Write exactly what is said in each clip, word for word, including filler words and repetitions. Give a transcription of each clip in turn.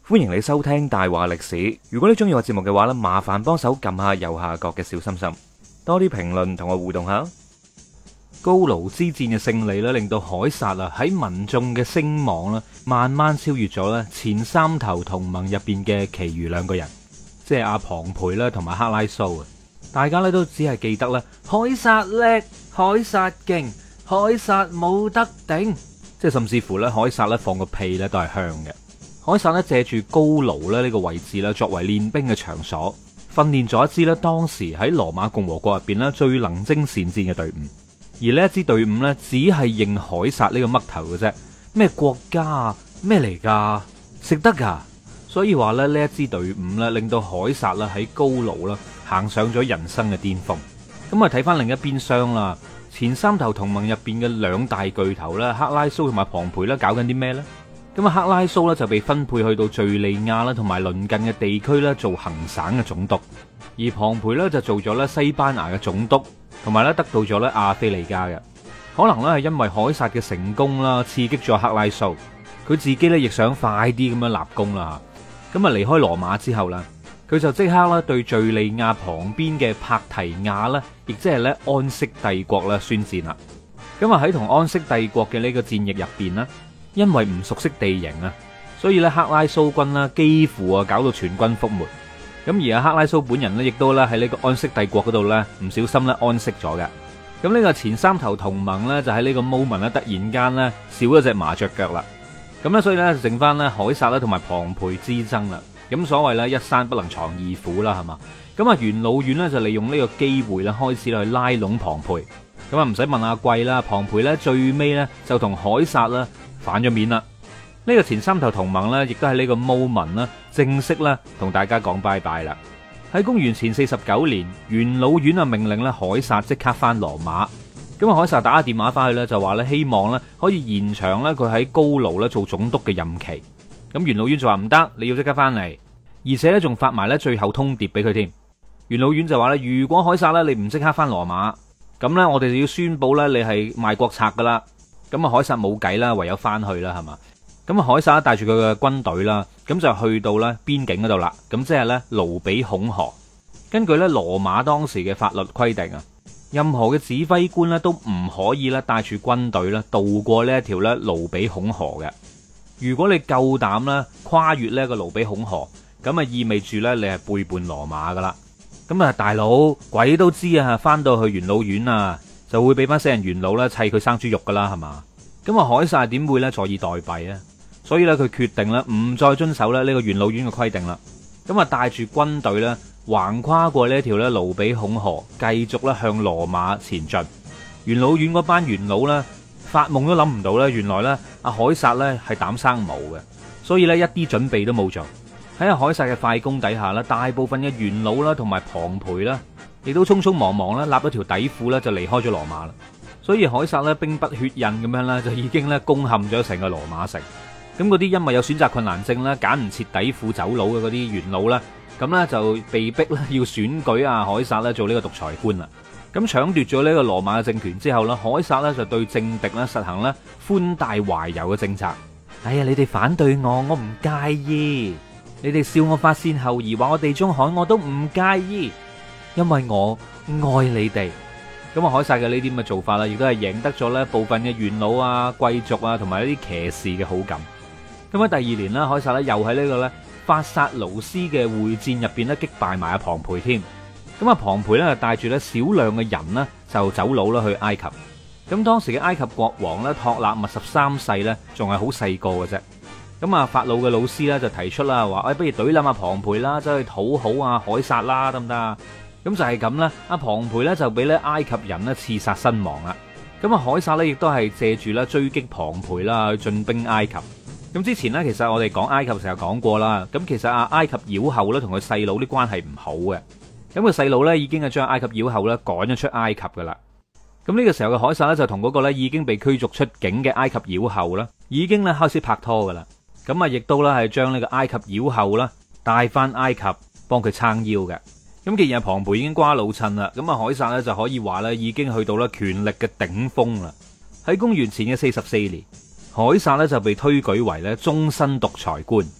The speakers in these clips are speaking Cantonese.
歡迎你收聽大話歷史。如果你中意我節目嘅話呢，麻煩幫手撳下右下角嘅小心心，多啲評論同我互動下。高盧之戰嘅勝利咧，令到凱撒啊喺民眾嘅聲望啦，慢慢超越咗咧前三頭同盟入邊嘅其餘兩個人，即係阿龐培啦同埋克拉蘇啊。大家咧都只係記得咧，凱撒叻，凱撒勁，凱撒冇得頂，即係甚至乎咧，凱撒咧放個屁咧都係香嘅。凱撒咧借住高盧咧呢個位置咧，作為練兵嘅場所，訓練咗一支咧當時喺羅馬共和國入邊咧最能征善戰嘅隊伍。而呢一支隊伍呢，只係認凱撒呢個嘜頭嘅啫。咩國家啊？咩嚟噶？食得噶？所以話咧，呢一支隊伍呢，令到凱撒啦喺高盧啦行上咗人生嘅巔峰。咁啊，睇翻另一邊廂啦，前三頭同盟入邊嘅兩大巨頭咧，克拉蘇同埋龐培咧，搞緊啲咩呢？咁啊，克拉蘇咧就被分配去到敘利亞啦，同埋鄰近嘅地區咧做行省嘅總督，而龐培咧就做咗咧西班牙嘅總督，同埋咧得到咗咧亞非利加嘅。可能咧係因為凱撒嘅成功啦，刺激咗克拉蘇，佢自己咧亦想快啲咁樣立功啦。咁啊，離開羅馬之後啦，佢就即刻啦對敘利亞旁邊嘅帕提亞啦，亦即係咧安息帝國啦宣戰啦。咁啊喺同安息帝國嘅呢個戰役入邊啦，因為唔熟悉地形啊，所以咧克拉蘇軍啦幾乎啊搞到全軍覆沒。咁而阿克拉蘇本人咧，亦都咧喺呢個安息帝國嗰度咧唔小心咧安息咗嘅。咁呢個前三頭同盟咧就喺呢個 moment 咧突然間咧少咗隻麻雀腳啦。咁咧所以咧剩翻咧凱撒啦同埋龐培之爭啦。咁所謂咧一山不能藏二虎啦，係嘛？咁啊元老院咧就利用呢個機會咧開始去拉攏龐培。咁啊唔使問阿貴啦，龐培咧最尾咧就同凱撒啦反咗面啦。呢個前三頭同盟咧，亦都喺呢個 moment 啦，正式咧同大家講拜拜啦。喺公元前四十九年，元老院啊命令咧凱撒即刻翻羅馬。咁啊，凱撒打個電話翻去咧，就話咧希望咧可以延長咧佢喺高盧咧做總督嘅任期。咁元老院就話唔得，你要即刻翻嚟，而且咧仲發埋咧最後通牒俾佢添。元老院就話咧，如果凱撒咧你唔即刻翻羅馬，咁咧我哋就要宣布咧你係賣國賊噶啦。咁啊，凱撒冇計啦，唯有翻去啦，係嘛？咁啊，凱撒帶住佢嘅軍隊啦，咁就去到咧邊境嗰度啦。咁即係咧盧比孔河。根據咧羅馬當時嘅法律規定啊，任何嘅指揮官咧都唔可以咧帶住軍隊咧渡過呢一條咧盧比孔河嘅。如果你夠膽咧跨越呢個盧比孔河，咁啊意味住咧你係背叛羅馬噶啦。咁啊，大佬鬼都知啊，翻到去元老院啊，就會俾班死人元老咧砌佢生豬肉噶啦，係嘛？咁啊，凱撒點會咧坐以待斃啊？所以咧，佢決定咧唔再遵守咧呢個元老院嘅規定啦。咁啊，帶住軍隊咧橫跨過呢一條咧盧比孔河，繼續咧向羅馬前進。元老院嗰班元老咧發夢都諗唔到咧，原來咧阿凱撒咧係膽生毛嘅，所以咧一啲準備都冇做。喺阿凱撒嘅快攻底下咧，大部分嘅元老啦同埋龐培啦，亦都匆匆忙忙咧立咗條底褲咧就離開咗羅馬啦。所以凱撒咧兵不血刃咁樣咧，就已經咧攻陷咗成個羅馬城。咁嗰啲因為有選擇困難症啦，揀唔切底褲走佬嘅嗰啲元老啦，咁咧就被逼咧要選舉阿凱撒咧做呢個獨裁官啦。咁搶奪咗呢個羅馬嘅政權之後咧，凱撒咧就對政敵咧實行咧寬大懷柔嘅政策。哎呀，你哋反對我，我唔介意；你哋笑我發線後移，話我地中海，我都唔介意，因為我愛你哋。咁啊，凱撒嘅呢啲咁嘅做法啦，亦都係贏得咗咧部分嘅元老啊、貴族啊，同埋一啲騎士嘅好感。咁喺第二年啦，凱撒咧又喺呢個咧法薩盧斯嘅會戰入邊咧擊敗埋阿龐培添。咁啊，龐培咧就帶住咧少量嘅人呢，就走佬啦去埃及。咁當時嘅埃及國王咧托勒密十三世咧仲係好細個嘅啫。咁啊，法老嘅老師咧就提出啦，話誒不如懟冧阿龐培啦，走去討好阿凱撒啦，得唔得啊？咁就係咁啦，阿龐培咧就俾咧埃及人咧刺殺身亡啦。咁啊，凱撒咧亦都係借住咧追擊龐培啦，去進兵埃及。咁之前咧，其實我哋講埃及成日講過啦。咁其實阿埃及妖后咧同佢細佬啲關係唔好嘅。咁佢細佬咧已經係將埃及妖后咧趕咗出埃及噶啦。咁呢個時候嘅凱撒咧就同嗰個咧已經被驅逐出境嘅埃及妖后啦，已經咧開始拍拖噶啦。咁啊，亦都咧係將呢個埃及妖后啦帶翻埃及幫佢撐腰嘅。咁既然阿龐培已經瓜老襯啦，咁啊凱撒咧就可以話咧已經去到咧權力嘅頂峰啦。喺公元前嘅四十四年，凱撒咧就被推舉為咧終身獨裁官。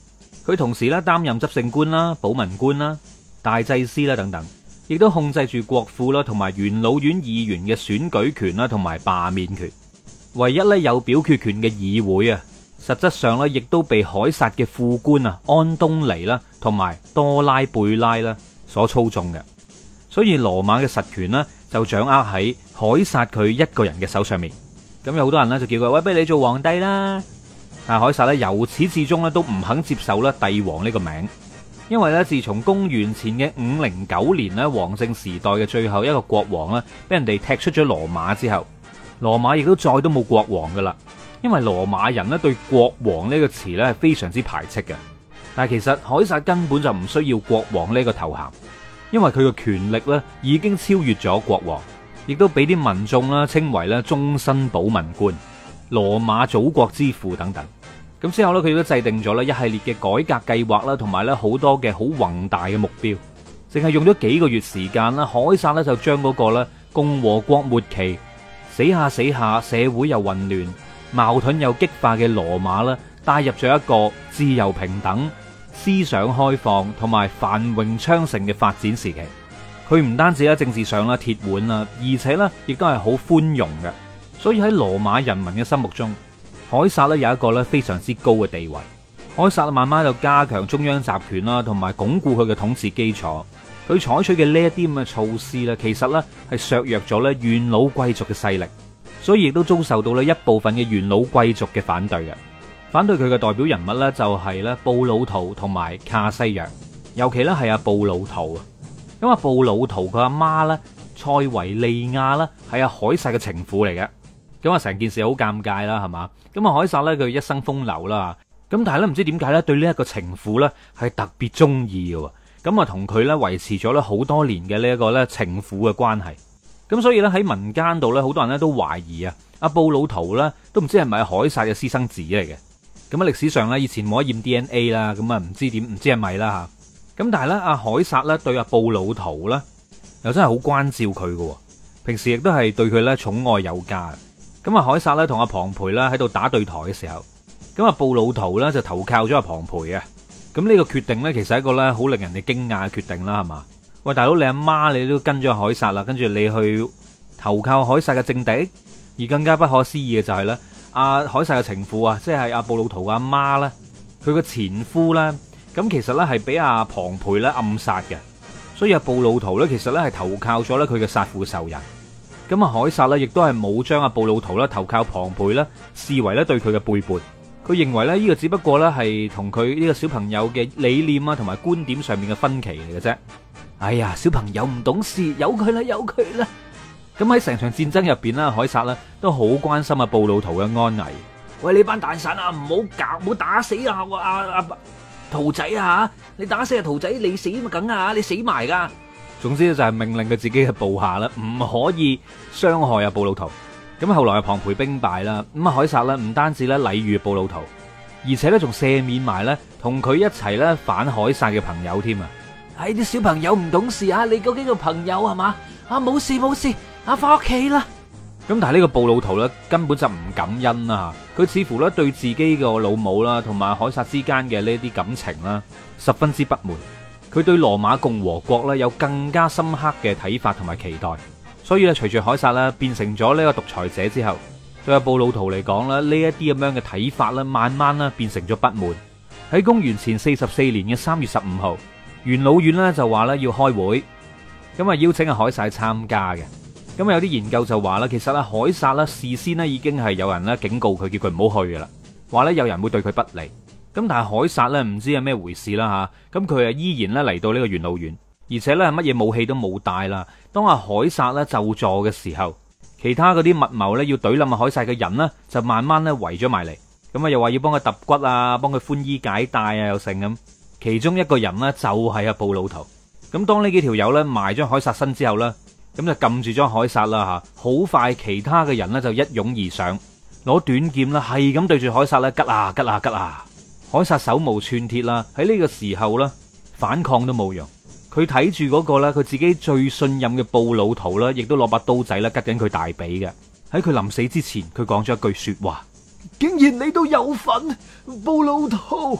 佢同時咧擔任執政官啦、保民官啦、大祭司啦等等，亦都控制住國庫啦同埋元老院議員嘅選舉權啦同埋罷免權。唯一咧有表決權嘅議會啊，實質上咧亦都被凱撒嘅副官啊安東尼啦同埋多拉貝拉啦所操縱嘅。所以羅馬嘅實權呢，就掌握喺凱撒佢一個人嘅手上面。咁有好多人呢，就叫佢喂，不如你做皇帝啦。但係凱撒咧由始至終咧都唔肯接受咧帝王呢個名，因為咧自從公元前嘅五零九年咧王政時代嘅最後一個國王咧俾人哋踢出咗羅馬之後，羅馬亦都再都冇國王噶啦。因為羅馬人咧對國王呢個詞咧係非常之排斥嘅。但係其實凱撒根本就唔需要國王呢個頭銜，因為佢嘅權力咧已經超越咗國王，亦都俾啲民眾啦稱為咧終身保民官、羅馬祖國之父等等。咁之後咧，佢亦都制定咗咧一系列嘅改革計劃啦，同埋咧好多嘅好宏大嘅目標。淨係用咗幾個月時間啦，凱撒咧就將嗰個咧共和國末期死下死下、社會又混亂、矛盾又激化嘅羅馬啦，帶入咗一個自由平等、思想開放同埋繁榮昌盛嘅發展時期。佢唔單止喺政治上啦鐵腕啦，而且咧亦都係好寬容嘅。所以喺羅馬人民嘅心目中，凱撒咧有一個咧非常之高嘅地位。凱撒慢慢就加強中央集權啦，同埋鞏固佢嘅統治基礎。佢採取嘅呢一啲咁嘅措施咧，其實咧係削弱咗咧元老貴族嘅勢力，所以亦都遭受到咧一部分嘅元老貴族嘅反對嘅。反對佢嘅代表人物咧就係咧布魯圖同埋卡西約，尤其咧係阿布魯圖啊。咁阿布魯圖佢阿媽咧塞維利亞啦係阿凱撒嘅情婦嚟嘅。咁啊，成件事好尷尬啦，係嘛？咁啊，凱撒咧佢一生風流啦，咁但係咧唔知點解咧對呢一個情婦咧係特別中意嘅，咁啊同佢咧維持咗咧好多年嘅呢一個咧情婦嘅關係。咁所以咧喺民間度咧，好多人咧都懷疑啊，阿布魯圖咧都唔知係咪凱撒嘅私生子嚟嘅。咁啊歷史上咧以前冇得驗 D N A 啦，咁啊唔知點唔知係咪啦吓。咁但係咧阿凱撒咧對阿布魯圖咧又真係好關照佢嘅，平時亦都係對佢咧寵愛有加。咁啊，凱撒咧同阿龐培啦喺度打對台嘅時候，咁啊布魯圖咧就投靠咗阿龐培嘅。咁呢個決定咧，其實係一個咧好令人哋驚訝嘅決定啦，係嘛？喂，大佬你阿媽你都跟咗凱撒啦，跟住你去投靠凱撒嘅政敵，而更加不可思議嘅就係咧，阿凱撒嘅情婦啊，即係阿布魯圖阿媽咧，佢個前夫咧，咁其實咧係俾阿龐培咧暗殺嘅，所以阿布魯圖咧其實咧係投靠咗咧佢嘅殺父仇人。咁啊，凱撒咧亦都係冇將阿布魯圖咧投靠龐培咧視為咧對佢嘅背叛。佢認為咧呢個只不過咧係同佢呢個小朋友嘅理念啊同埋觀點上面嘅分歧嚟嘅啫。哎呀，小朋友唔懂事，由佢啦，由佢啦。咁喺成場戰爭入邊啦，凱撒咧都好關心阿布魯圖嘅安危。喂，你班大臣啊，唔好搞，唔好打死啊阿阿圖仔啊！你打死阿圖仔，你死咪梗啊！你死埋噶。總之就係命令佢自己嘅部下啦，唔可以傷害阿布魯圖。咁後來阿龐培兵敗啦，咁啊凱撒咧唔單止咧禮遇布魯圖，而且咧仲赦免埋咧同佢一齊咧反凱撒嘅朋友添啊！唉，啲小朋友唔懂事啊！你嗰幾個朋友係嘛？啊冇事冇事，啊翻屋企啦！咁但係呢個布魯圖咧根本就唔感恩啦，佢似乎咧對自己個老母啦同埋凱撒之間嘅呢啲感情啦十分之不滿。佢對羅馬共和國咧有更加深刻嘅睇法同埋期待，所以咧隨住凱撒咧變成咗呢個獨裁者之後，對阿布魯圖嚟講咧呢一啲咁樣嘅睇法咧，慢慢咧變成咗不滿。喺公元前四十四年嘅三月十五號，元老院咧就話咧要開會，咁啊邀請阿凱撒參加嘅。咁有啲研究就話啦，其實阿凱撒咧事先咧已經係有人咧警告佢，叫佢唔好去噶啦，話咧有人會對佢不利。咁但係凱撒咧唔知係咩回事啦吓，咁佢啊依然咧嚟到呢個元老院，而且咧乜嘢武器都冇帶啦。當阿凱撒咧就座嘅時候，其他嗰啲密謀咧要懟冧阿凱撒嘅人呢，就慢慢咧圍咗埋嚟，咁啊又話要幫佢揼骨啊，幫佢寬衣解帶啊，又成咁。其中一個人呢，就係阿布魯圖。咁當呢幾條友咧埋咗凱撒身之後咧，咁就撳住咗凱撒啦吓。好快其他嘅人呢，就一擁而上，攞短劍啦係咁對住凱撒咧吉啊吉啊吉啊！凱撒手無寸鐵啦，喺呢個時候咧反抗都冇用。佢睇住嗰個咧，佢自己最信任嘅布魯圖啦，亦都攞把刀仔啦，吉緊佢大髀嘅。喺佢臨死之前，佢講咗一句說話：竟然你都有份，布魯圖！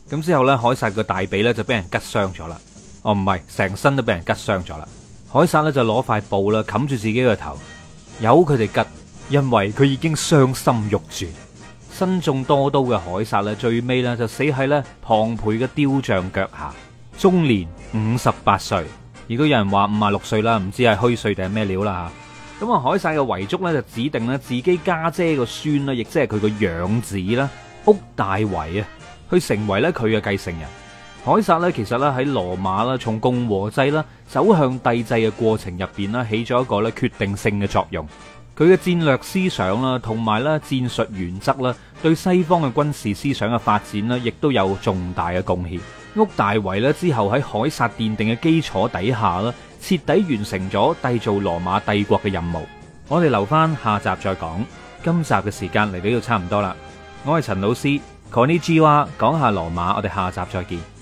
咁之後咧，凱撒個大髀咧就俾人拮傷咗啦。哦，唔係，成身都俾人拮傷咗啦。凱撒咧就攞塊布啦冚住自己個頭，由佢哋拮，因為佢已經傷心欲絕。身中多刀嘅凱撒咧，最尾咧就死喺咧龐培嘅雕像腳下，終年五十八歲。亦都有人話五十六歲啦，唔知係虛歲定係咩料啦吓。咁啊，凱撒嘅遺囑咧就指定咧自己家姐個孫啦，亦即係佢個養子啦，屋大維啊，去成為咧佢嘅繼承人。凱撒咧其實咧喺羅馬啦，從共和制啦走向帝制嘅過程入邊啦，起咗一個咧決定性嘅作用。佢嘅戰略思想啦，同埋咧戰術原則啦，對西方嘅軍事思想嘅發展呢，亦都有重大嘅貢獻。屋大維咧之後喺凱撒奠定嘅基礎底下啦，徹底完成咗締造羅馬帝國嘅任務。我哋留翻下集再講。今集嘅時間嚟到呢度差唔多啦。我係陳老師，Konnichiwa，講下羅馬，我哋下集再見。